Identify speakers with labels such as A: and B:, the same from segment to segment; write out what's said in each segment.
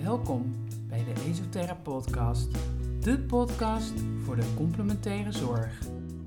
A: Welkom bij de Esoterra Podcast, de podcast voor de complementaire zorg.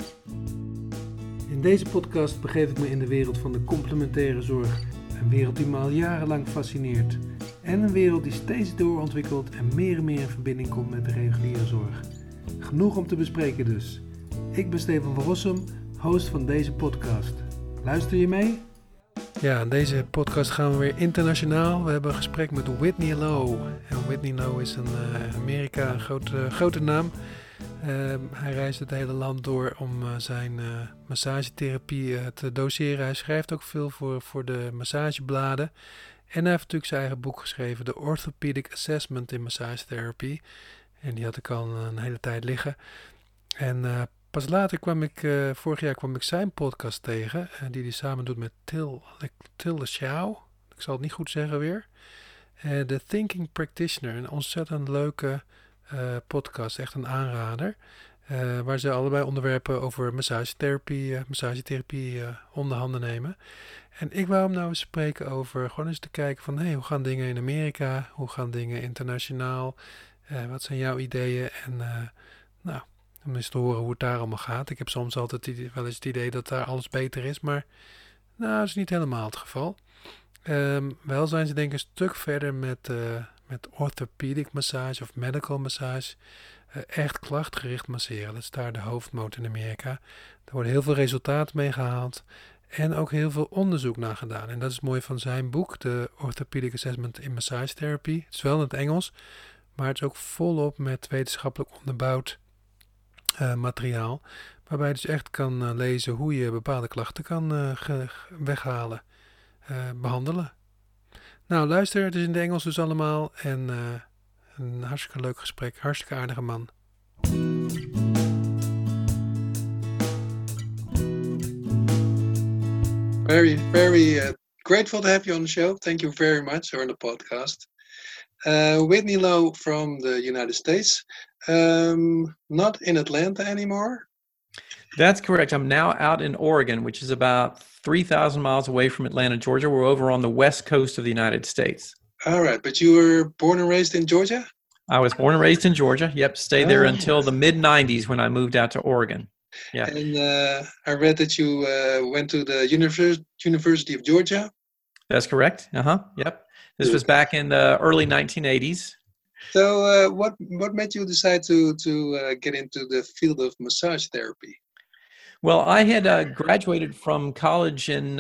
B: In deze podcast begeef ik me in de wereld van de complementaire zorg, een wereld die me al jarenlang fascineert en een wereld die steeds doorontwikkelt en meer in verbinding komt met de reguliere zorg. Genoeg om te bespreken dus. Ik ben Stefan van Rossum, host van deze podcast. Luister je mee? Ja, in deze podcast gaan we weer internationaal. We hebben een gesprek met Whitney Lowe. En Whitney Lowe is in Amerika een grote naam. Hij reist het hele land door om zijn massagetherapie te doseren. Hij schrijft ook veel voor de massagebladen. En hij heeft natuurlijk zijn eigen boek geschreven, The Orthopedic Assessment in Massagetherapy. En die had ik al een hele tijd liggen. En pas later vorig jaar kwam ik zijn podcast tegen, die hij samen doet met Till Xiao. Ik zal het niet goed zeggen weer. The Thinking Practitioner, een ontzettend leuke podcast, echt een aanrader. Waar ze allebei onderwerpen over massagetherapie onder handen nemen. En ik wou hem nou eens spreken over, gewoon eens te kijken van, hoe gaan dingen in Amerika? Hoe gaan dingen internationaal? Wat zijn jouw ideeën? En om eens te horen hoe het daar allemaal gaat. Ik heb soms altijd wel eens het idee dat daar alles beter is, maar dat is niet helemaal het geval. Wel zijn ze denk ik een stuk verder met orthopedic massage of medical massage. Echt klachtgericht masseren. Dat is daar de hoofdmoot in Amerika. Er worden heel veel resultaten mee gehaald en ook heel veel onderzoek naar gedaan. En dat is mooi van zijn boek, de Orthopedic Assessment in Massage Therapy. Het is wel in het Engels, maar het is ook volop met wetenschappelijk onderbouwd materiaal, waarbij je dus echt kan lezen hoe je bepaalde klachten kan weghalen, behandelen. Nou, luister, het is in het Engels dus allemaal en een hartstikke leuk gesprek, hartstikke aardige man.
C: Very grateful to have you on the show. Thank you very much, or on the podcast. Whitney Lowe from the United States. Not in Atlanta anymore.
D: That's correct. I'm now out in Oregon, which is about 3,000 miles away from Atlanta, Georgia. We're over on the west coast of the United States.
C: All right, but you were born and raised in Georgia?
D: I was born and raised in Georgia. Yep, stayed there until the mid-90s when I moved out to Oregon. Yeah.
C: And I read that you went to the University of Georgia?
D: That's correct. Yep. This was back in the early 1980s.
C: So what made you decide to get into the field of massage therapy?
D: Well, I had graduated from college in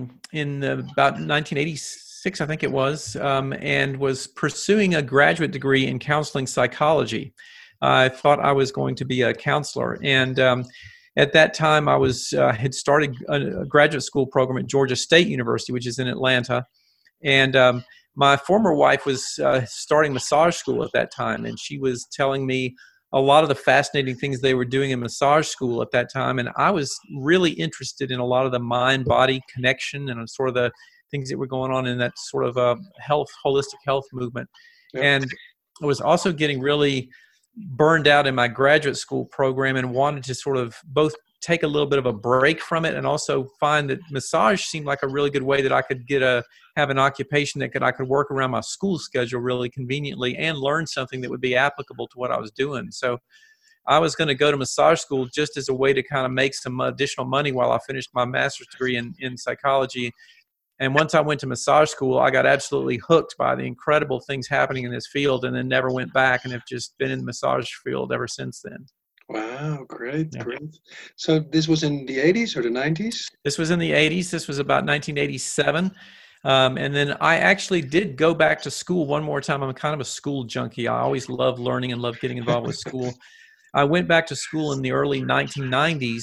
D: about 1986, I think it was, and was pursuing a graduate degree in counseling psychology. I thought I was going to be a counselor, and at that time I had started a graduate school program at Georgia State University, which is in Atlanta, and my former wife was starting massage school at that time, and she was telling me a lot of the fascinating things they were doing in massage school at that time. And I was really interested in a lot of the mind-body connection and sort of the things that were going on in that sort of holistic health movement. Yep. And I was also getting really burned out in my graduate school program and wanted to sort of both take a little bit of a break from it and also find that massage seemed like a really good way that I could have an occupation that I could work around my school schedule really conveniently and learn something that would be applicable to what I was doing. So I was going to go to massage school just as a way to kind of make some additional money while I finished my master's degree in psychology. And once I went to massage school, I got absolutely hooked by the incredible things happening in this field and then never went back and have just been in the massage field ever since then.
C: Wow, great. So this was in the 80s or the 90s?
D: This was in the 80s. This was about 1987. And then I actually did go back to school one more time. I'm kind of a school junkie. I always love learning and love getting involved with school. I went back to school in the early 1990s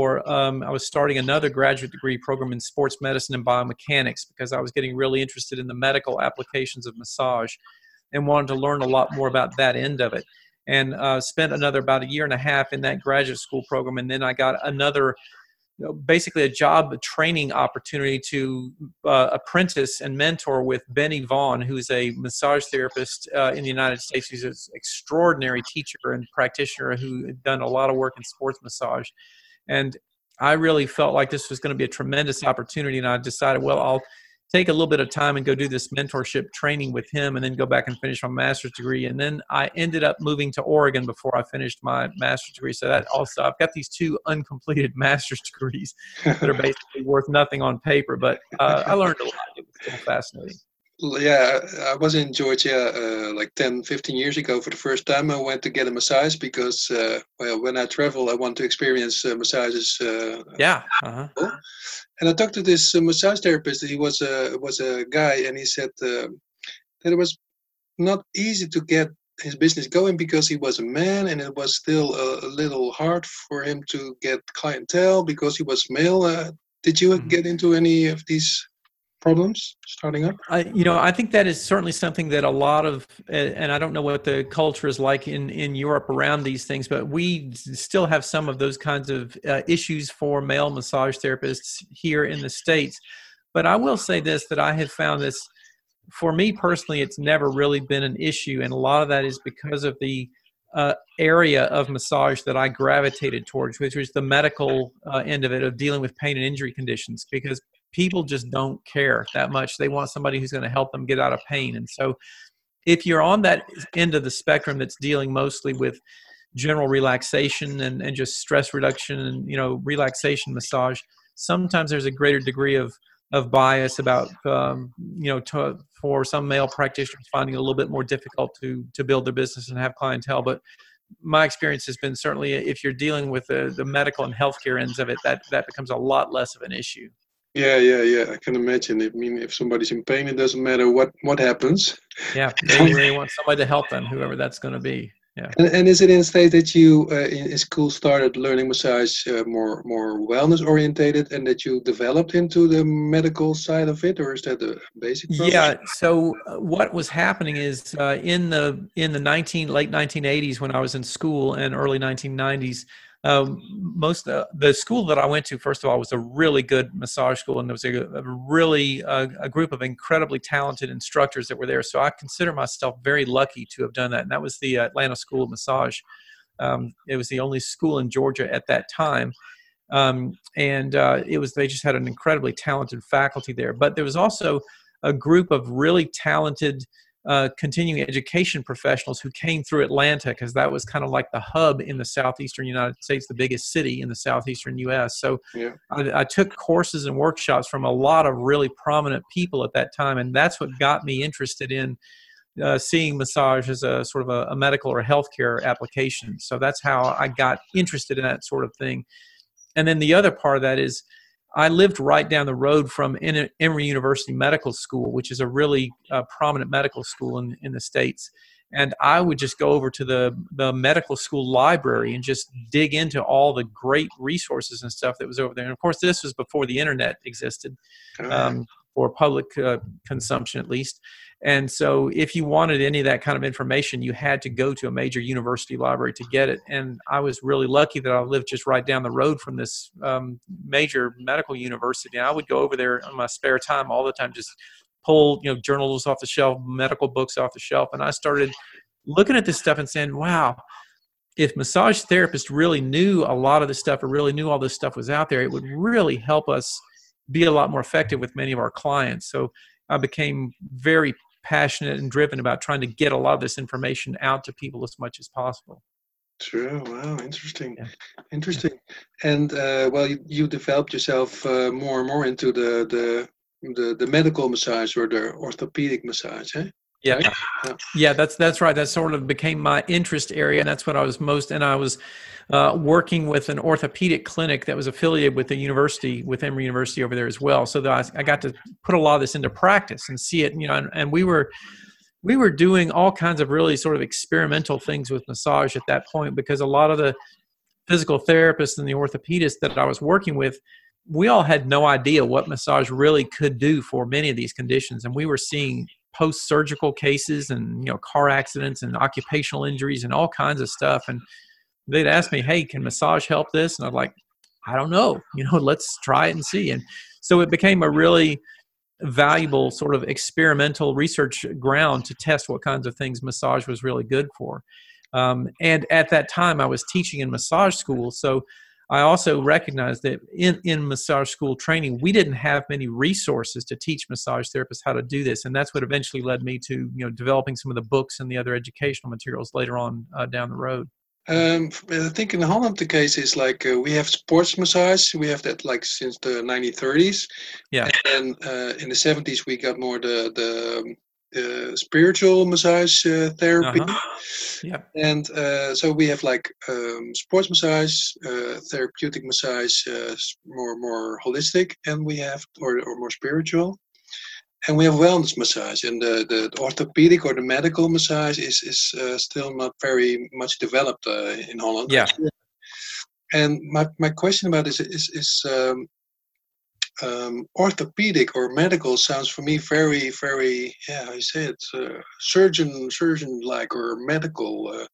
D: I was starting another graduate degree program in sports medicine and biomechanics because I was getting really interested in the medical applications of massage and wanted to learn a lot more about that end of it. And spent about a year and a half in that graduate school program. And then I got another, basically a job training opportunity to apprentice and mentor with Benny Vaughn, who's a massage therapist in the United States. He's an extraordinary teacher and practitioner who had done a lot of work in sports massage. And I really felt like this was going to be a tremendous opportunity. And I decided, well, I'll take a little bit of time and go do this mentorship training with him and then go back and finish my master's degree. And then I ended up moving to Oregon before I finished my master's degree. So that also, I've got these 2 uncompleted master's degrees that are basically worth nothing on paper, but I learned a lot. It was still fascinating.
C: Yeah, I was in Georgia like 10, 15 years ago for the first time. I went to get a massage because, when I travel, I want to experience massages.
D: Yeah. Uh-huh.
C: And I talked to this massage therapist. He was a guy, and he said that it was not easy to get his business going because he was a man, and it was still a little hard for him to get clientele because he was male. Did you get into any of these problems starting up?
D: I think that is certainly something that a lot of, and I don't know what the culture is like in Europe around these things, but we still have some of those kinds of issues for male massage therapists here in the States. But I will say this, that I have found this, for me personally, it's never really been an issue. And a lot of that is because of the area of massage that I gravitated towards, which was the medical end of it, of dealing with pain and injury conditions, because people just don't care that much. They want somebody who's going to help them get out of pain. And so if you're on that end of the spectrum that's dealing mostly with general relaxation and just stress reduction and, relaxation massage, sometimes there's a greater degree of bias about, for some male practitioners finding it a little bit more difficult to build their business and have clientele. But my experience has been certainly if you're dealing with the medical and healthcare ends of it, that becomes a lot less of an issue.
C: Yeah. I can imagine. I mean, if somebody's in pain, it doesn't matter what happens.
D: Yeah, they want somebody to help them, whoever that's going to be. Yeah.
C: And is it in the state that you in school started learning massage more wellness orientated, and that you developed into the medical side of it, or is that the basic program?
D: Yeah. So what was happening is in the late 1980s when I was in school and early 1990s. Most of the school that I went to, first of all, was a really good massage school, and there was a group of incredibly talented instructors that were there. So I consider myself very lucky to have done that, and that was the Atlanta School of Massage. It was the only school in Georgia at that time, they just had an incredibly talented faculty there. But there was also a group of really talented continuing education professionals who came through Atlanta, because that was kind of like the hub in the southeastern United States, the biggest city in the southeastern U.S. So yeah. I took courses and workshops from a lot of really prominent people at that time, and that's what got me interested in seeing massage as a sort of a medical or healthcare application. So that's how I got interested in that sort of thing. And then the other part of that is I lived right down the road from Emory University Medical School, which is a really prominent medical school in the States. And I would just go over to the medical school library and just dig into all the great resources and stuff that was over there. And of course, this was before the internet existed, for public consumption at least. And so if you wanted any of that kind of information, you had to go to a major university library to get it. And I was really lucky that I lived just right down the road from this major medical university. And I would go over there on my spare time all the time, just pull journals off the shelf, medical books off the shelf. And I started looking at this stuff and saying, wow, if massage therapists really knew a lot of this stuff or really knew all this stuff was out there, it would really help us be a lot more effective with many of our clients. So I became very passionate and driven about trying to get a lot of this information out to people as much as possible.
C: True. Wow. Interesting.
D: Yeah.
C: Interesting. And you developed yourself more and more into the medical massage or the orthopedic massage, eh?
D: Yeah.
C: Right?
D: Yeah, that's right. That sort of became my interest area, and that's what I was and I was working with an orthopedic clinic that was affiliated with the university, with Emory University over there as well. So that I got to put a lot of this into practice and see it, and we were doing all kinds of really sort of experimental things with massage at that point, because a lot of the physical therapists and the orthopedists that I was working with, we all had no idea what massage really could do for many of these conditions. And we were seeing post-surgical cases and, car accidents and occupational injuries and all kinds of stuff. And they'd ask me, hey, can massage help this? And I'm like, I don't know, let's try it and see. And so it became a really valuable sort of experimental research ground to test what kinds of things massage was really good for. And at that time I was teaching in massage school. So I also recognize that in massage school training, we didn't have many resources to teach massage therapists how to do this. And that's what eventually led me to, developing some of the books and the other educational materials later on down the road.
C: I think in Holland the case is like we have sports massage. We have that like since the 1930s.
D: Yeah.
C: And in the 70s we got more the spiritual massage therapy.
D: Yeah.
C: And so we have like sports massage, therapeutic massage, more holistic, and we have or more spiritual. And we have wellness massage, and the orthopedic or the medical massage is still not very much developed in Holland.
D: Yeah.
C: And my question about this is orthopedic or medical sounds for me very, very, how you say it, surgeon like or medical.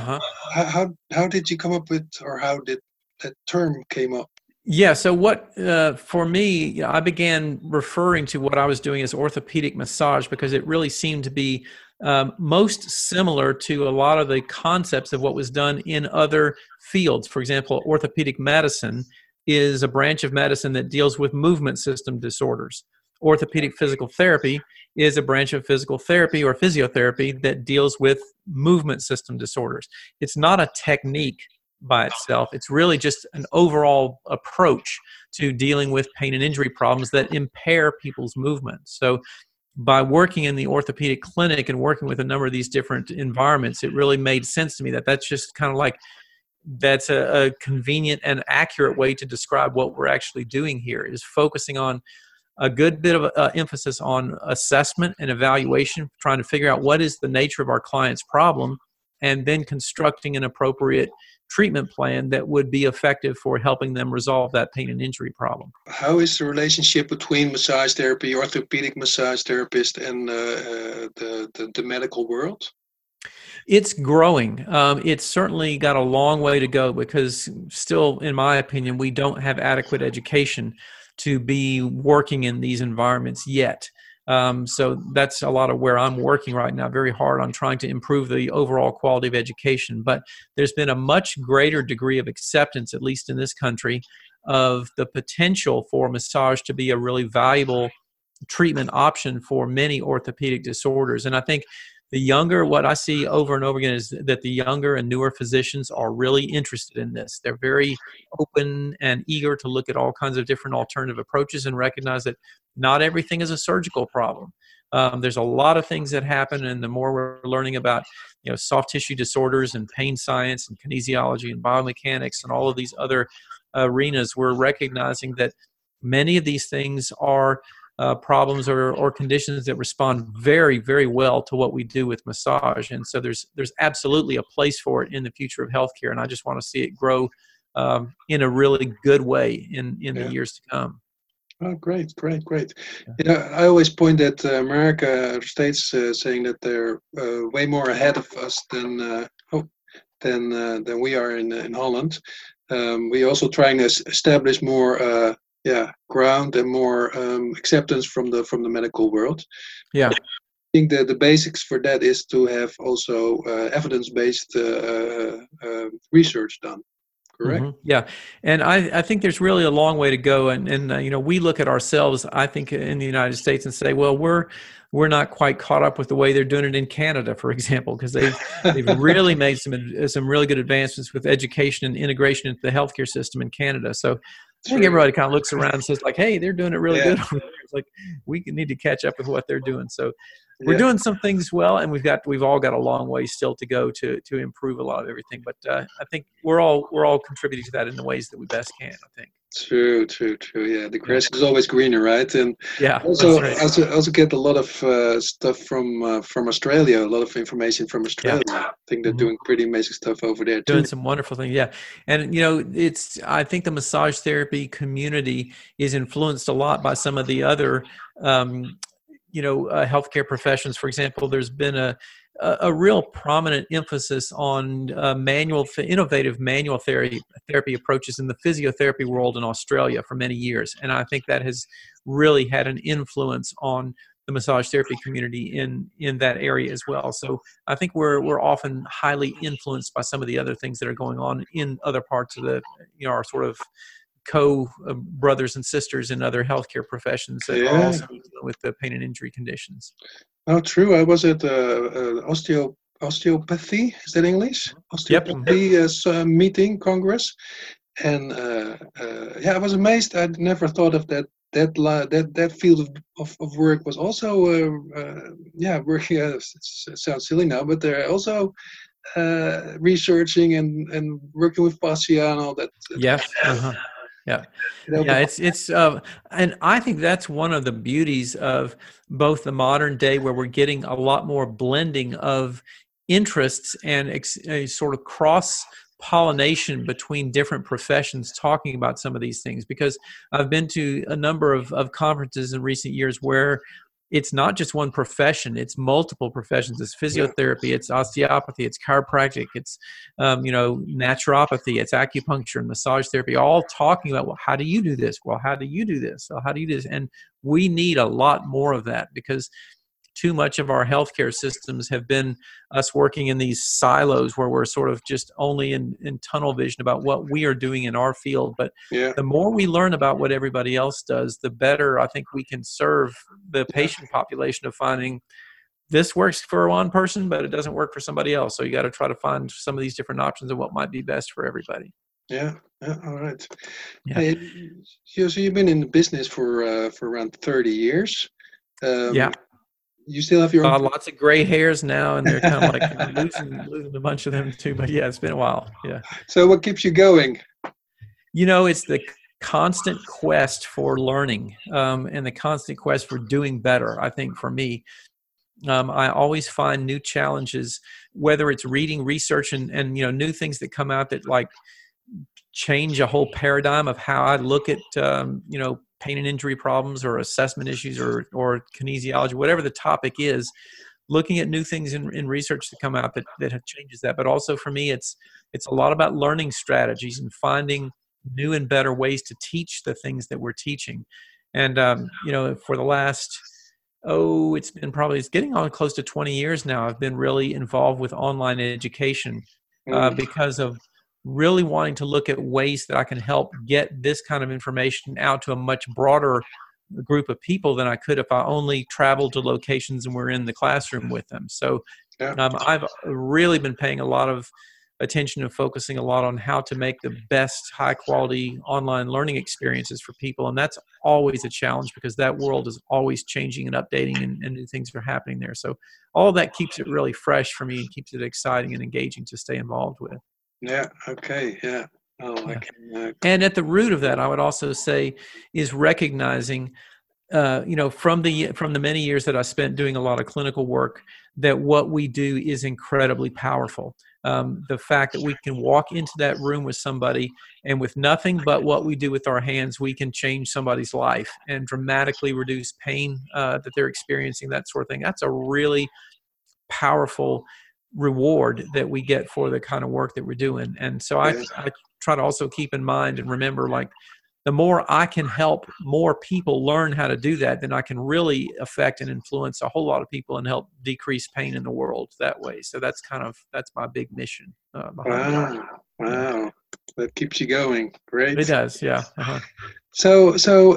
C: How did you come up with, or how did that term came up?
D: Yeah. So what, for me, I began referring to what I was doing as orthopedic massage because it really seemed to be most similar to a lot of the concepts of what was done in other fields. For example, orthopedic medicine is a branch of medicine that deals with movement system disorders. Orthopedic physical therapy is a branch of physical therapy or physiotherapy that deals with movement system disorders. It's not a technique by itself. It's really just an overall approach to dealing with pain and injury problems that impair people's movement. So by working in the orthopedic clinic and working with a number of these different environments, it really made sense to me that that's just kind of like, that's a convenient and accurate way to describe what we're actually doing here, is focusing on a good bit of emphasis on assessment and evaluation, trying to figure out what is the nature of our client's problem, and then constructing an appropriate treatment plan that would be effective for helping them resolve that pain and injury problem.
C: How is the relationship between massage therapy, orthopedic massage therapist, and the medical world?
D: It's growing. It's certainly got a long way to go because still, in my opinion, we don't have adequate education to be working in these environments yet. So that's a lot of where I'm working right now, very hard on trying to improve the overall quality of education. But there's been a much greater degree of acceptance, at least in this country, of the potential for massage to be a really valuable treatment option for many orthopedic disorders. And I think what I see over and over again is that the younger and newer physicians are really interested in this. They're very open and eager to look at all kinds of different alternative approaches and recognize that not everything is a surgical problem. There's a lot of things that happen, and the more we're learning about, soft tissue disorders and pain science and kinesiology and biomechanics and all of these other arenas, we're recognizing that many of these things are problems or conditions that respond very, very well to what we do with massage. And so there's absolutely a place for it in the future of healthcare. And I just want to see it grow in a really good way in the years to come.
C: Oh, great. I always point at America, States, saying that they're way more ahead of us than we are in Holland. We also trying to establish more ground and more acceptance from the medical world. Yeah, I think that the basics for that is to have also evidence-based research done. Correct.
D: Mm-hmm. Yeah, and I think there's really a long way to go, and we look at ourselves, I think, in the United States and say, well, we're not quite caught up with the way they're doing it in Canada, for example, because they've really made some really good advancements with education and integration into the healthcare system in Canada. So I think everybody kind of looks around and says, like, hey, they're doing it really good. It's like we need to catch up with what they're doing. So we're doing some things well, and we've all got a long way still to go to improve a lot of everything. But I think we're all contributing to that in the ways that we best can, I think.
C: True. Yeah, the grass is always greener, right? And
D: also, right.
C: I also get a lot of stuff from Australia. A lot of information from Australia. Yeah. I think they're doing pretty amazing stuff over there too.
D: Doing some wonderful things, yeah. And I think the massage therapy community is influenced a lot by some of the other healthcare professions. For example, there's been a real prominent emphasis on innovative manual therapy approaches in the physiotherapy world in Australia for many years. And I think that has really had an influence on the massage therapy community in that area as well. So I think we're often highly influenced by some of the other things that are going on in other parts of the, our sort of brothers and sisters in other healthcare professions that are also dealing with the pain and injury conditions.
C: Oh, true. I was at osteopathy. Is that English? Osteopathy meeting, congress. And I was amazed. I'd never thought of that field of work was also working. It sounds silly now, but they're also researching and working with fascia and all that.
D: Yes. Yeah. It's and I think that's one of the beauties of both the modern day, where we're getting a lot more blending of interests and a sort of cross pollination between different professions talking about some of these things, because I've been to a number of conferences in recent years where it's not just one profession, it's multiple professions. It's physiotherapy, it's osteopathy, it's chiropractic, it's naturopathy, it's acupuncture and massage therapy, all talking about, well, how do you do this? Well, how do you do this? Well, how do you do this? And we need a lot more of that, because too much of our healthcare systems have been us working in these silos where we're sort of just only in tunnel vision about what we are doing in our field. But the more we learn about what everybody else does, the better I think we can serve the patient population of finding this works for one person, but it doesn't work for somebody else. So you got to try to find some of these different options of what might be best for everybody.
C: Yeah. All right. Yeah. Hey, so you've been in the business for around 30 years. You still have your own...
D: lots of gray hairs now, and they're kind of like losing a bunch of them too. But yeah, it's been a while. Yeah.
C: So what keeps you going?
D: It's the constant quest for learning and the constant quest for doing better. I think for me, I always find new challenges, whether it's reading, research, and new things that come out that like change a whole paradigm of how I look at pain and injury problems or assessment issues or kinesiology, whatever the topic is, looking at new things in research that come out that changes that. But also for me, it's a lot about learning strategies and finding new and better ways to teach the things that we're teaching. And, for the last, it's getting on close to 20 years now, I've been really involved with online education because of really wanting to look at ways that I can help get this kind of information out to a much broader group of people than I could if I only traveled to locations and were in the classroom with them. So I've really been paying a lot of attention and focusing a lot on how to make the best high quality online learning experiences for people. And that's always a challenge, because that world is always changing and updating and new things are happening there. So all of that keeps it really fresh for me and keeps it exciting and engaging to stay involved with.
C: Yeah. Okay. Yeah.
D: And at the root of that, I would also say, is recognizing, from the many years that I spent doing a lot of clinical work, that what we do is incredibly powerful. The fact that we can walk into that room with somebody and with nothing but what we do with our hands, we can change somebody's life and dramatically reduce pain that they're experiencing, that sort of thing. That's a really powerful reward that we get for the kind of work that we're doing. And so I try to also keep in mind and remember, like, the more I can help more people learn how to do that, then I can really affect and influence a whole lot of people and help decrease pain in the world that way. So that's my big mission.
C: Wow. That keeps you going. Great.
D: It does. Yeah.
C: So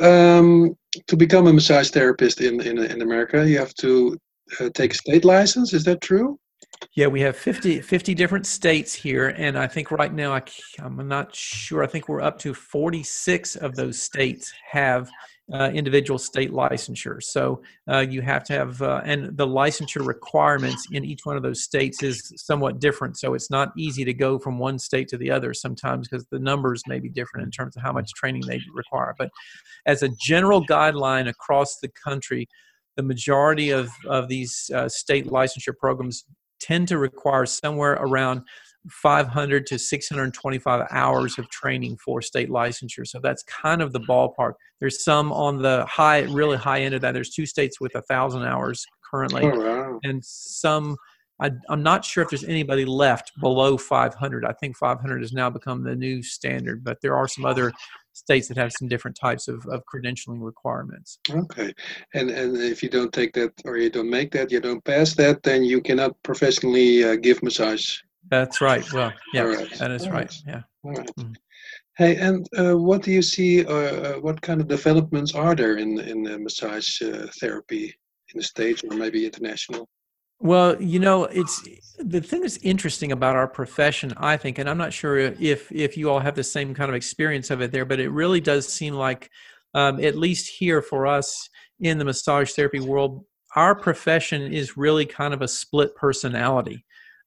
C: to become a massage therapist in America, you have to take a state license. Is that true?
D: Yeah, we have 50 different states here, and I think right now, I'm not sure, I think we're up to 46 of those states have individual state licensure. So you have to have, and the licensure requirements in each one of those states is somewhat different. So it's not easy to go from one state to the other sometimes, because the numbers may be different in terms of how much training they require. But as a general guideline across the country, the majority of these state licensure programs tend to require somewhere around 500 to 625 hours of training for state licensure. So that's kind of the ballpark. There's some on the really high end of that. There's 2 states with 1,000 hours currently.
C: Oh, wow.
D: And some, I'm not sure if there's anybody left below 500. I think 500 has now become the new standard, but there are some other states that have some different types of credentialing requirements.
C: Okay, and if you don't take that, or you don't make that, you don't pass that, then you cannot professionally give massage.
D: That's right. Well, yeah,
C: Right.
D: that is right. Yeah.
C: All right.
D: Mhm.
C: Hey, and what do you see? What kind of developments are there in massage therapy in the States or maybe international?
D: Well, it's the thing that's interesting about our profession, I think, and I'm not sure if you all have the same kind of experience of it there, but it really does seem like, at least here for us in the massage therapy world, our profession is really kind of a split personality.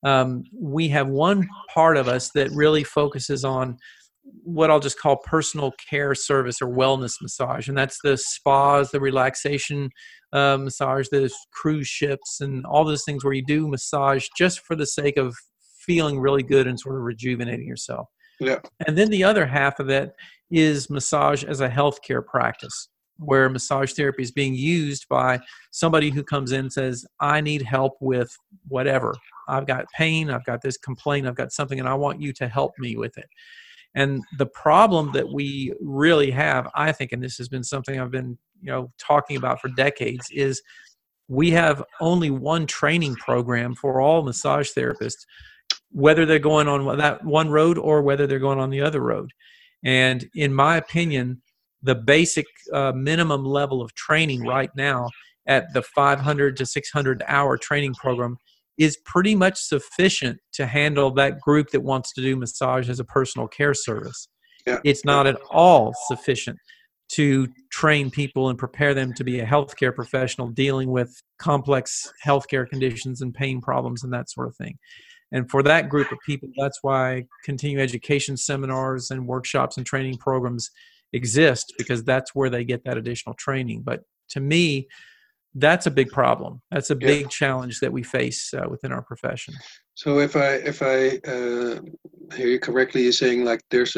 D: We have one part of us that really focuses on what I'll just call personal care service or wellness massage, and that's the spas, the relaxation massage, the cruise ships, and all those things where you do massage just for the sake of feeling really good and sort of rejuvenating yourself.
C: Yeah.
D: And then the other half of it is massage as a healthcare practice, where massage therapy is being used by somebody who comes in and says, I need help with whatever. I've got pain, I've got this complaint, I've got something, and I want you to help me with it. And the problem that we really have, I think, and this has been something I've been, talking about for decades, is we have only one training program for all massage therapists, whether they're going on that one road or whether they're going on the other road. And in my opinion, the basic minimum level of training right now at the 500 to 600 hour training program is pretty much sufficient to handle that group that wants to do massage as a personal care service.
C: Yeah.
D: It's not at all sufficient to train people and prepare them to be a healthcare professional dealing with complex healthcare conditions and pain problems and that sort of thing. And for that group of people, that's why continuing education seminars and workshops and training programs exist, because that's where they get that additional training. But to me, that's a big problem. That's a big challenge that we face within our profession.
C: So if I hear you correctly, you're saying like there's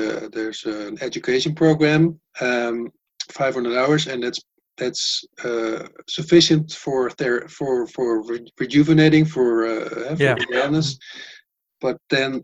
C: an education program, 500 hours, and that's sufficient for rejuvenating, for wellness. But then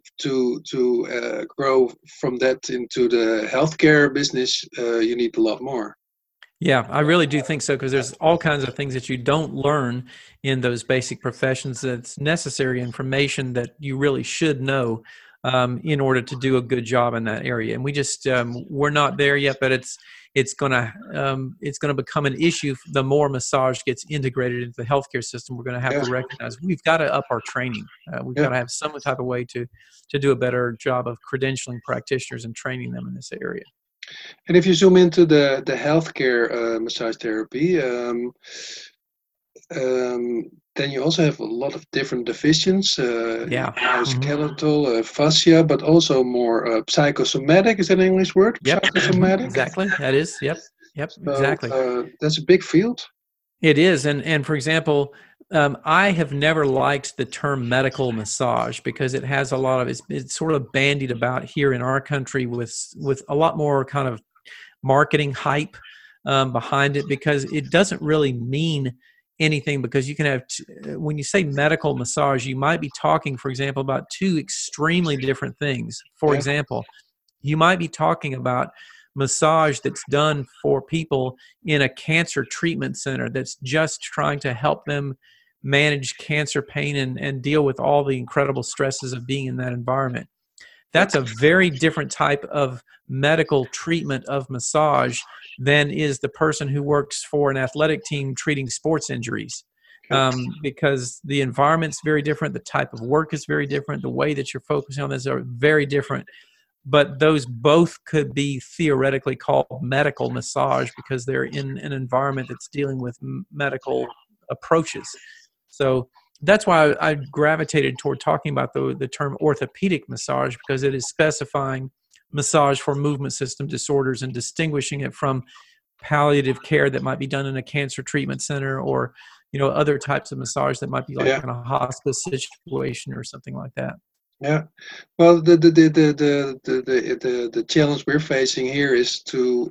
C: to grow from that into the healthcare business, you need a lot more.
D: Yeah, I really do think so, because there's all kinds of things that you don't learn in those basic professions that's necessary information that you really should know in order to do a good job in that area. And we just we're not there yet, but it's gonna become an issue the more massage gets integrated into the healthcare system. We're going to have to recognize we've got to up our training. We've got to have some type of way to do a better job of credentialing practitioners and training them in this area.
C: And if you zoom into the healthcare massage therapy, then you also have a lot of different divisions. Skeletal, fascia, but also more psychosomatic. Is that an English word?
D: Yep.
C: Psychosomatic.
D: Exactly. That is. Yep.
C: So,
D: Exactly.
C: That's a big field.
D: It is, and for example, I have never liked the term medical massage because it has a lot of it's sort of bandied about here in our country with a lot more kind of marketing hype behind it, because it doesn't really mean anything, because you can have when you say medical massage, you might be talking, for example, about two extremely different things. For example, you might be talking about massage that's done for people in a cancer treatment center that's just trying to help them manage cancer pain and deal with all the incredible stresses of being in that environment. That's a very different type of medical treatment of massage than is the person who works for an athletic team treating sports injuries. Because the environment's very different, the type of work is very different, the way that you're focusing on this are very different. But those both could be theoretically called medical massage because they're in an environment that's dealing with medical approaches. So that's why I gravitated toward talking about the term orthopedic massage, because it is specifying massage for movement system disorders and distinguishing it from palliative care that might be done in a cancer treatment center, or other types of massage that might be like in a hospice situation or something like that.
C: Yeah, well, the challenge we're facing here is to,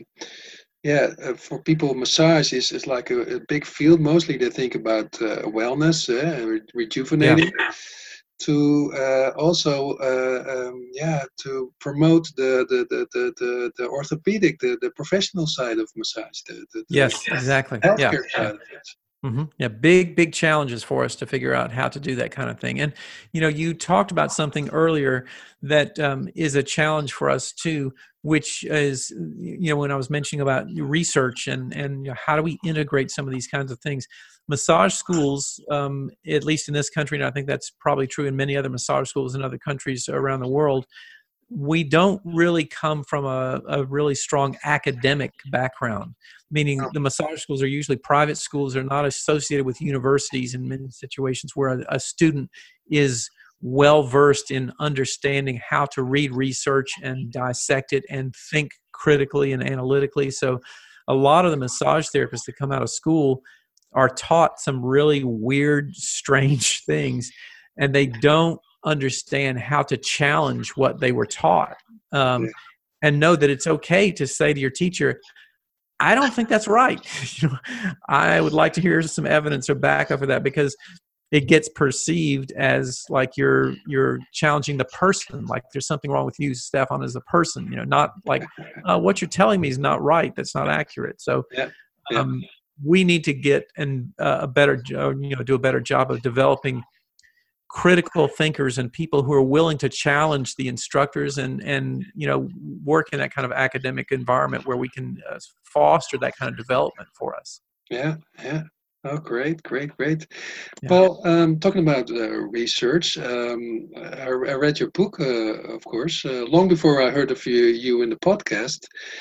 C: for people, massage is like a big field. Mostly they think about wellness, rejuvenating. to also to promote the orthopedic, the professional side of massage, the
D: Yes, exactly. Yeah.
C: healthcare side of it.
D: Yeah, big challenges for us to figure out how to do that kind of thing. And you talked about something earlier that is a challenge for us too, which is when I was mentioning about research and how do we integrate some of these kinds of things. Massage schools, at least in this country, and I think that's probably true in many other massage schools in other countries around the world, we don't really come from a really strong academic background, meaning the massage schools are usually private schools. They're not associated with universities in many situations where a student is well-versed in understanding how to read research and dissect it and think critically and analytically. So a lot of the massage therapists that come out of school are taught some really weird, strange things, and they don't understand how to challenge what they were taught, and know that it's okay to say to your teacher, I don't think that's right. I would like to hear some evidence or backup for that, because it gets perceived as like you're challenging the person, like there's something wrong with you, Stefan, as a person, not like what you're telling me is not right. That's not accurate. So we need to get do a better job of developing critical thinkers and people who are willing to challenge the instructors and work in that kind of academic environment where we can foster that kind of development for us.
C: Yeah. Oh, great.
D: Yeah.
C: Well, talking about research, I read your book, of course, long before I heard of you in the podcast.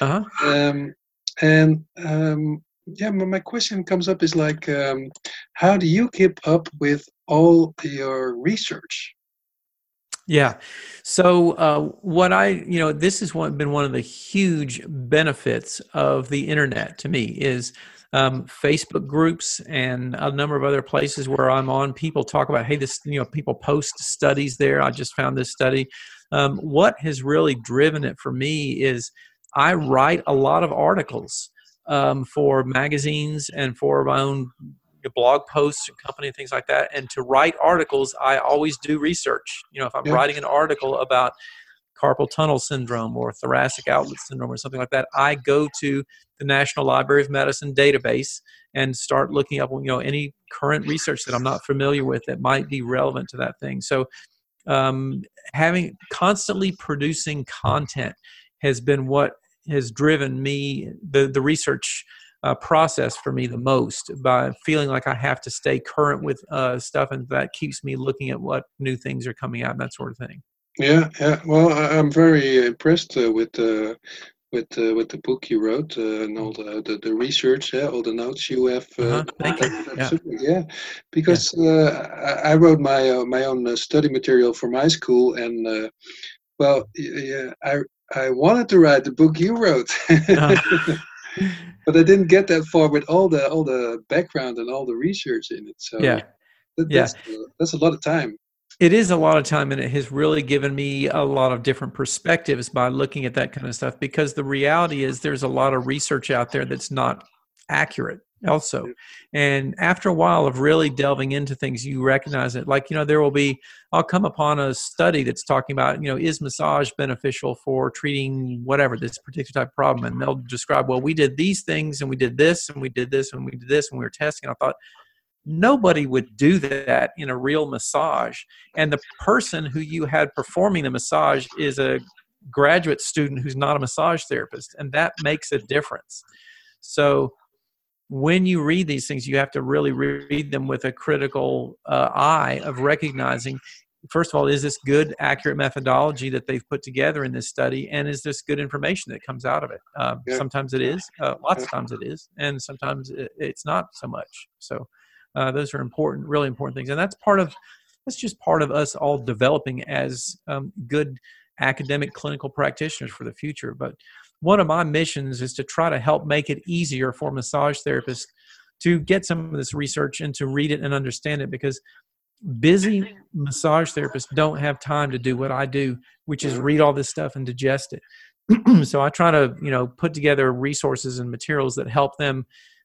C: My question comes up is like, how do you keep up with all your research?
D: Yeah. So this has been one of the huge benefits of the internet to me is Facebook groups and a number of other places where I'm on. People talk about, hey, people post studies there. I just found this study. What has really driven it for me is I write a lot of articles for magazines and for my own blog posts and company and things like that. And to write articles, I always do research. If I'm writing an article about carpal tunnel syndrome or thoracic outlet syndrome or something like that, I go to the National Library of Medicine database and start looking up, any current research that I'm not familiar with that might be relevant to that thing. So constantly producing content has been what has driven me, the research process for me the most, by feeling like I have to stay current with stuff, and that keeps me looking at what new things are coming out and that sort of thing.
C: Yeah. Well, I'm very impressed with the book you wrote and all the research, all the notes you have.
D: Thank you.
C: Because I wrote my own study material for my school, and I wanted to write the book you wrote. But I didn't get that far with all the background and all the research in it. So that's a lot of time.
D: It is a lot of time, and it has really given me a lot of different perspectives by looking at that kind of stuff, because the reality is there's a lot of research out there that's not accurate also. And after a while of really delving into things, you recognize it. Like, I'll come upon a study that's talking about, is massage beneficial for treating whatever, this particular type of problem? And they'll describe, well, we did these things and we did this and we did this and we did this and we were testing. I thought, nobody would do that in a real massage. And the person who you had performing the massage is a graduate student who's not a massage therapist. And that makes a difference. So when you read these things, you have to really read them with a critical eye of recognizing, first of all, is this good, accurate methodology that they've put together in this study? And is this good information that comes out of it? Sometimes it is, lots of times it is, and sometimes it's not so much. So those are important, really important things. And that's just part of us all developing as good academic clinical practitioners for the future. But one of my missions is to try to help make it easier for massage therapists to get some of this research and to read it and understand it, because busy massage therapists don't have time to do what I do, which is read all this stuff and digest it. So I try to, put together resources and materials that help them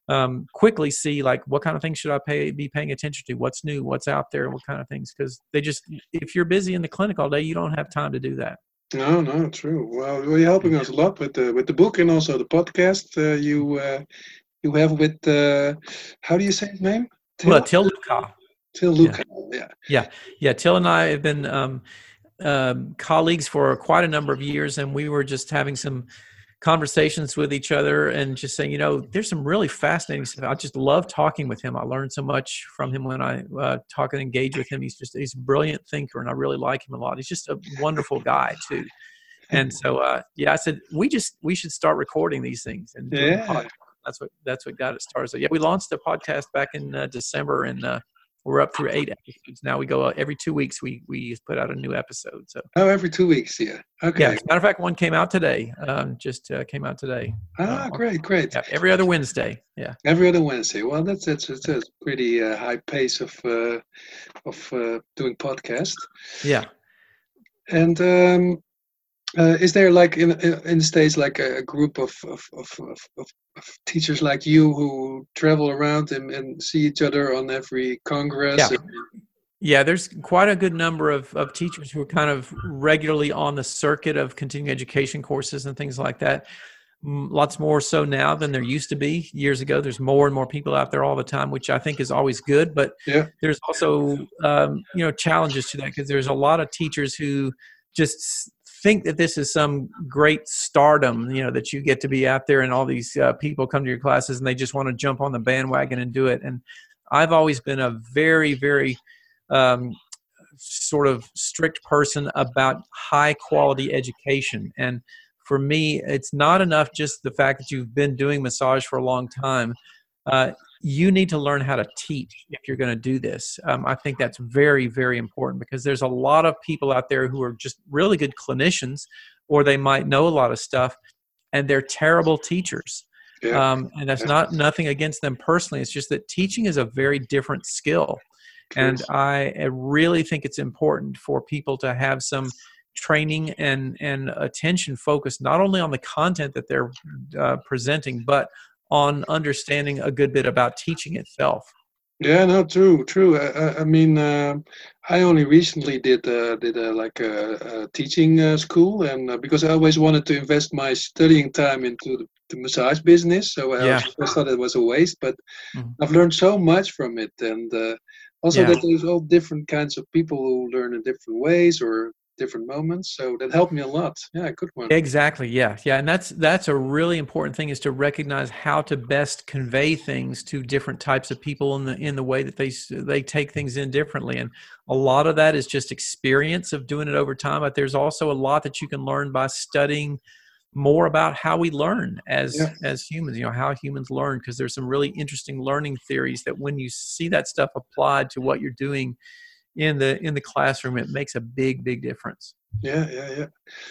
D: quickly see like what kind of things should I be paying attention to, what's new, what's out there, what kind of things, because if you're busy in the clinic all day, you don't have time to do that.
C: No, true. Well, you're helping us a lot with the book and also the podcast you have with how do you say his name?
D: Till Luca.
C: Till Luca.
D: Yeah. Till and I have been colleagues for quite a number of years, and we were just having some conversations with each other and just saying, there's some really fascinating stuff. I just love talking with him. I learned so much from him when I talk and engage with him. He's a brilliant thinker, and I really like him a lot. He's just a wonderful guy too. And so, I said, we should start recording these things. And that's what got it started. So we launched the podcast back in December, and we're up through 8 episodes now. We go every 2 weeks. We put out a new episode. So
C: every 2 weeks, yeah. Okay.
D: Yeah, as a matter of fact, one came out today. Came out today.
C: Great.
D: Yeah, every other Wednesday. Yeah.
C: Every other Wednesday. Well, that's a pretty high pace of doing podcast.
D: Yeah.
C: And is there like in the States like a group of teachers like you who travel around and see each other on every congress?
D: Yeah, there's quite a good number of teachers who are kind of regularly on the circuit of continuing education courses and things like that. Lots more so now than there used to be years ago. There's more and more people out there all the time, which I think is always good. But there's also challenges to that, because there's a lot of teachers who just think that this is some great stardom, that you get to be out there and all these people come to your classes and they just want to jump on the bandwagon and do it. And I've always been a very, very sort of strict person about high quality education. And for me, it's not enough just the fact that you've been doing massage for a long time. You need to learn how to teach if you're going to do this. I think that's very, very important, because there's a lot of people out there who are just really good clinicians, or they might know a lot of stuff, and they're terrible teachers. And that's nothing against them personally. It's just that teaching is a very different skill. And I really think it's important for people to have some training and attention focused not only on the content that they're presenting, but on understanding a good bit about teaching itself.
C: Yeah, no, true. I mean, I only recently did a teaching school, and because I always wanted to invest my studying time into the massage business, so I thought it was a waste. But I've learned so much from it, and also that there's all different kinds of people who learn in different ways or different moments, so that helped me a lot. Good one.
D: Exactly. Yeah, and that's a really important thing, is to recognize how to best convey things to different types of people in the way that they take things in differently. And a lot of that is just experience of doing it over time, but there's also a lot that you can learn by studying more about how we learn as humans, how humans learn, because there's some really interesting learning theories that when you see that stuff applied to what you're doing in the classroom, it makes a big difference.
C: Yeah.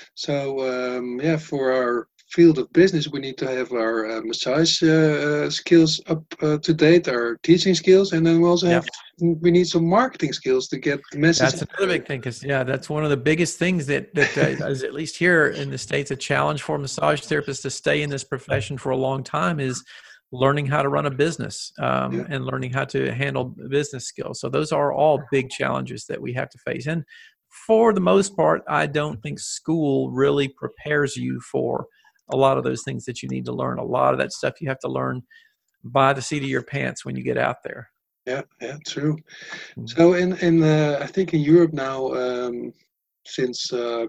C: So for our field of business, we need to have our massage skills up to date, our teaching skills, and then we also we need some marketing skills to get the message.
D: That's another big thing, because that's one of the biggest things that is, at least here in the States, a challenge for massage therapists to stay in this profession for a long time is learning how to run a business and learning how to handle business skills. So those are all big challenges that we have to face. And for the most part, I don't think school really prepares you for a lot of those things that you need to learn. A lot of that stuff you have to learn by the seat of your pants when you get out there.
C: Yeah, true. So in I think in Europe now, since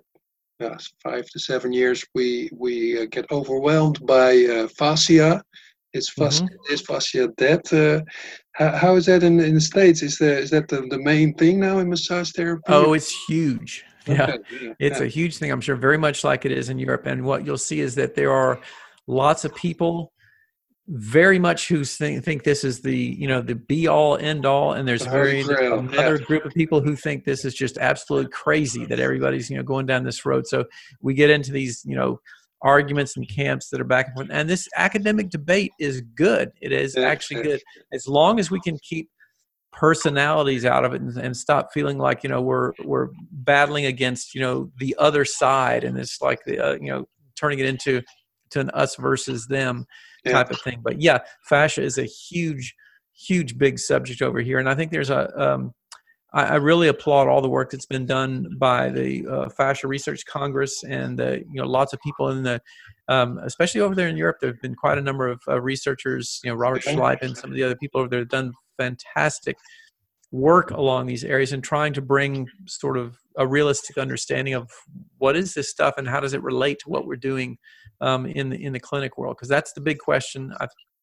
C: 5 to 7 years, we get overwhelmed by fascia. Is fascia dead? How is that in the States? Is that the main thing now in massage therapy?
D: Oh, it's huge. It's a huge thing. I'm sure very much like it is in Europe. And what you'll see is that there are lots of people very much who think this is the be all end all, and there's another group of people who think this is just absolute crazy, that everybody's going down this road. So we get into these arguments and camps that are back and forth. And this academic debate is good. It is actually good, as long as we can keep personalities out of it and stop feeling like we're battling against the other side, and it's like turning it into an us versus them. type of thing. But yeah, fascia is a huge, big subject over here. And I think there's I really applaud all the work that's been done by the Fascia Research Congress and lots of people in the, especially over there in Europe. There have been quite a number of researchers, Robert Schleip and some of the other people over there have done fantastic work along these areas and trying to bring sort of a realistic understanding of what is this stuff and how does it relate to what we're doing in the clinic world, because that's the big question.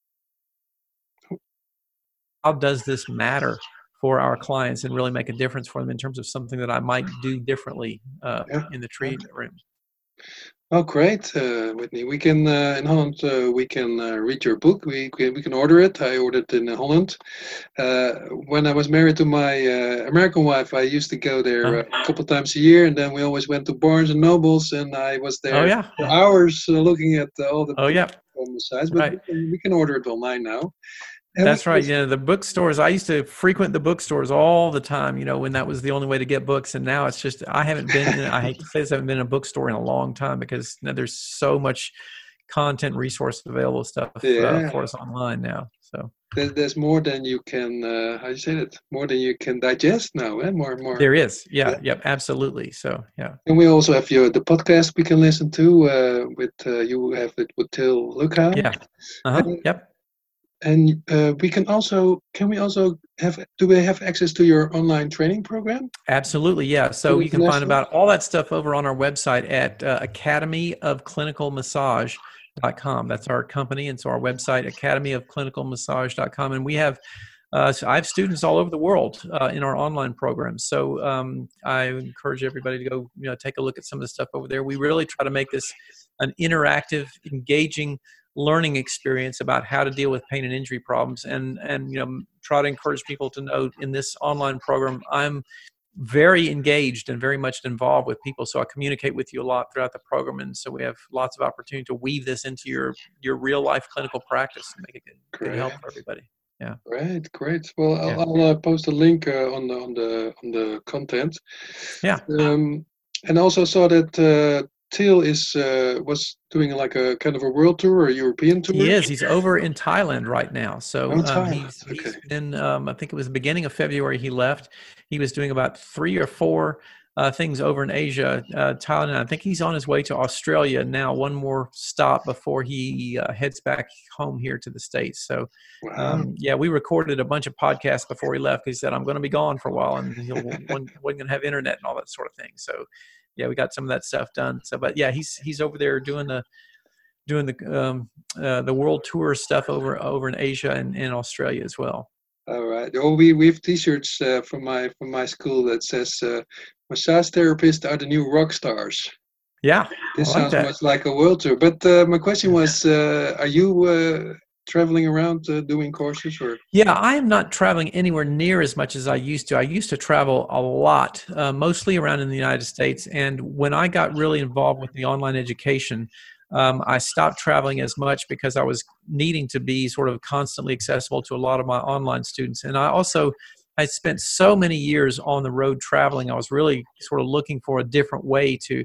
D: How does this matter for our clients and really make a difference for them in terms of something that I might do differently in the treatment room?
C: Oh, great, Whitney. We can in Holland. We can read your book. We can order it. I ordered it in Holland. When I was married to my American wife, I used to go there a couple times a year, and then we always went to Barnes and Nobles, and I was there for hours looking at all the books on the sides. But we can order it online now.
D: That's right. The bookstores. I used to frequent the bookstores all the time, when that was the only way to get books. And now it's just, I haven't been, I hate to say this, I haven't been in a bookstore in a long time because there's so much content, resource available stuff for us online now. So
C: there's more than you can, how do you say that? More than you can digest now, eh? More.
D: There is. Yep, absolutely. So, yeah.
C: And we also have the podcast we can listen to with, you have it with Till Lukau.
D: Yeah. Yep.
C: And we can also do we have access to your online training program?
D: Absolutely, yeah. So you can find about all that stuff over on our website at academyofclinicalmassage.com. That's our company, and so our website, academyofclinicalmassage.com. And we have I have students all over the world in our online programs. So I encourage everybody to go take a look at some of the stuff over there. We really try to make this an interactive, engaging learning experience about how to deal with pain and injury problems, and try to encourage people to know in this online program I'm very engaged and very much involved with people, so I communicate with you a lot throughout the program, and so we have lots of opportunity to weave this into your real life clinical practice and make it good help for everybody. Yeah.
C: Great. Well, I'll post a link on the content.
D: Yeah.
C: And also saw that Till was doing like a kind of a world tour or a European tour.
D: He is. He's over in Thailand right now. So he's been, I think it was the beginning of February he left. He was doing about 3 or 4 things over in Asia, Thailand. And I think he's on his way to Australia now, one more stop before he heads back home here to the States. So, we recorded a bunch of podcasts before he left. He said, I'm going to be gone for a while, and he wasn't going to have internet and all that sort of thing. So, yeah, we got some of that stuff done. So, but yeah, he's over there doing the world tour stuff over in Asia and in Australia as well.
C: All right. Oh, we have T-shirts from my school that says massage therapists are the new rock stars.
D: Yeah,
C: this sounds much like a world tour. But my question was, are you traveling around doing courses? Or
D: yeah, I am not traveling anywhere near as much as I used to. I used to travel a lot, mostly around in the United States. And when I got really involved with the online education, I stopped traveling as much because I was needing to be sort of constantly accessible to a lot of my online students. And I spent so many years on the road traveling. I was really sort of looking for a different way to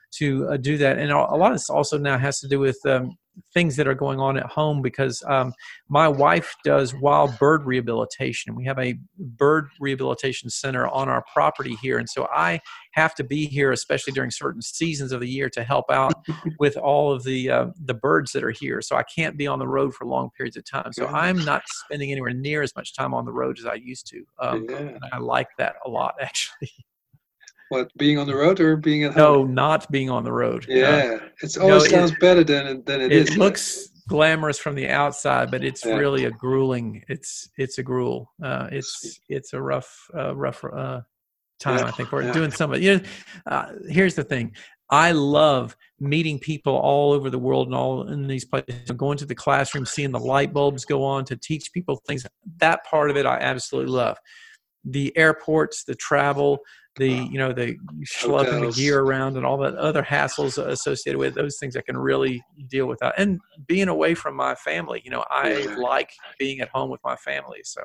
D: do that. And a lot of this also now has to do with things that are going on at home, because my wife does wild bird rehabilitation. We have a bird rehabilitation center on our property here. And so I have to be here, especially during certain seasons of the year, to help out with all of the birds that are here. So I can't be on the road for long periods of time. So I'm not spending anywhere near as much time on the road as I used to. And I like that a lot, actually.
C: What, being on the road or being at home?
D: No, not being on the road.
C: Yeah, it always sounds better than it is.
D: It looks glamorous from the outside, but it's really a grueling. It's a gruel. It's a rough time, I think, for doing some of it. Here's the thing. I love meeting people all over the world and all in these places, going to the classroom, seeing the light bulbs go on to teach people things. That part of it I absolutely love. The airports, the travel, the schlepping the gear around and all that other hassles associated with those things I can really deal with that. And being away from my family, I like being at home with my family. So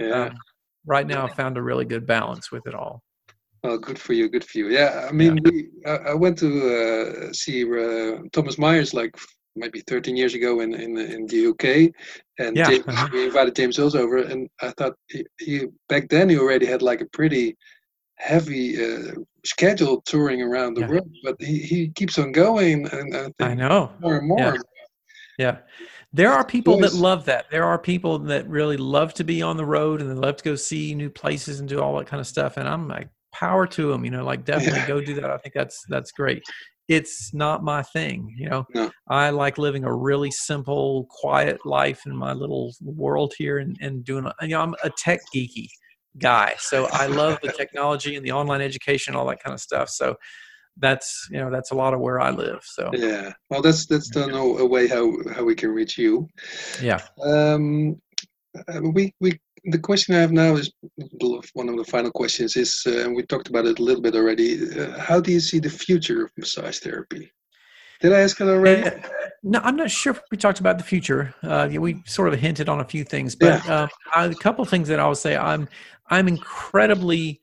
D: right now I found a really good balance with it all.
C: Well, good for you. Yeah, I mean, I went to see Thomas Myers like maybe 13 years ago in the UK, and James, we invited James Hills over, and I thought he back then he already had like a pretty heavy schedule touring around the world, but he keeps on going, and I think
D: I know
C: more and more.
D: Yeah. There are people that love that. There are people that really love to be on the road and they love to go see new places and do all that kind of stuff. And I'm like, power to them, like definitely go do that. I think that's great. It's not my thing.
C: No.
D: I like living a really simple, quiet life in my little world here and doing, I'm a tech geeky guy. So I love the technology and the online education, all that kind of stuff. So that's a lot of where I live. So
C: yeah, well, that's a way how we can reach you.
D: Yeah.
C: The question I have now is one of the final questions is, and we talked about it a little bit already. How do you see the future of massage therapy? Did I ask it already?
D: No, I'm not sure if we talked about the future. We sort of hinted on a few things, but a couple of things that I would say. I'm incredibly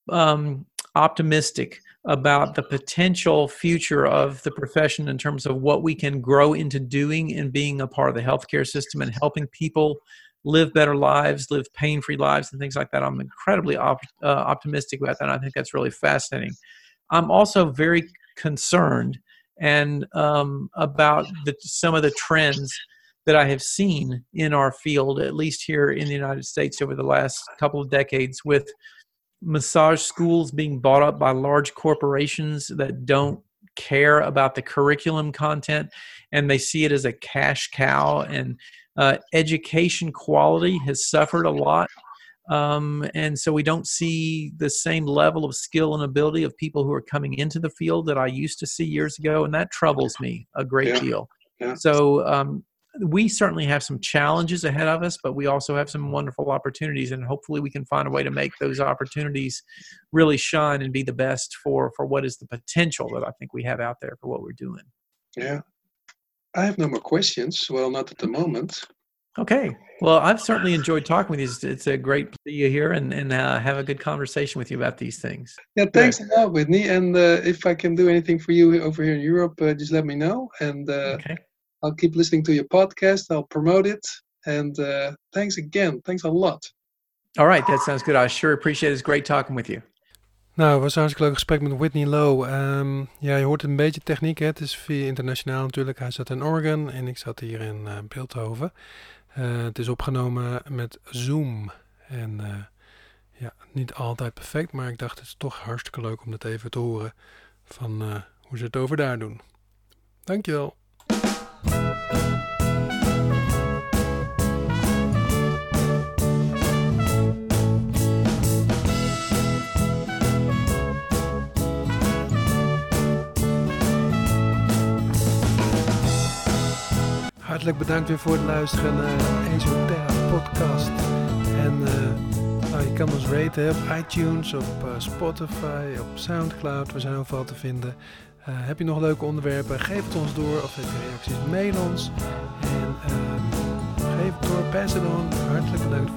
D: optimistic about the potential future of the profession in terms of what we can grow into doing and being a part of the healthcare system and helping people live better lives, live pain-free lives, and things like that. I'm incredibly optimistic about that. And I think that's really fascinating. I'm also very concerned and about some of the trends that I have seen in our field, at least here in the United States over the last couple of decades, with massage schools being bought up by large corporations that don't care about the curriculum content, and they see it as a cash cow, and education quality has suffered a lot. And so we don't see the same level of skill and ability of people who are coming into the field that I used to see years ago. And that troubles me a great deal. Yeah. So we certainly have some challenges ahead of us, but we also have some wonderful opportunities, and hopefully we can find a way to make those opportunities really shine and be the best for what is the potential that I think we have out there for what we're doing.
C: Yeah. I have no more questions. Well, not at the moment.
D: Okay. Well, I've certainly enjoyed talking with you. It's a great to see you here and have a good conversation with you about these things.
C: Yeah, thanks a lot, Whitney. And if I can do anything for you over here in Europe, just let me know. And
D: okay.
C: I'll keep listening to your podcast. I'll promote it. And thanks again. Thanks a lot.
D: All right. That sounds good. I sure appreciate it. It's great talking with you.
B: Nou, het was een hartstikke leuk gesprek met Whitney Lowe. Ja, je hoort een beetje techniek. Hè? Het is via internationaal natuurlijk. Hij zat in Oregon en ik zat hier in Beeldhoven. Het is opgenomen met Zoom. En ja, niet altijd perfect, maar ik dacht het is toch hartstikke leuk om dat even te horen van hoe ze het over daar doen. Dankjewel. Hartelijk bedankt weer voor het luisteren naar de Esoterra podcast. En je kan ons raten op iTunes, op Spotify, op Soundcloud. We zijn overal te vinden. Heb je nog leuke onderwerpen? Geef het ons door. Of heb je reacties? Mail ons. En geef het door. Pass it on. Hartelijk bedankt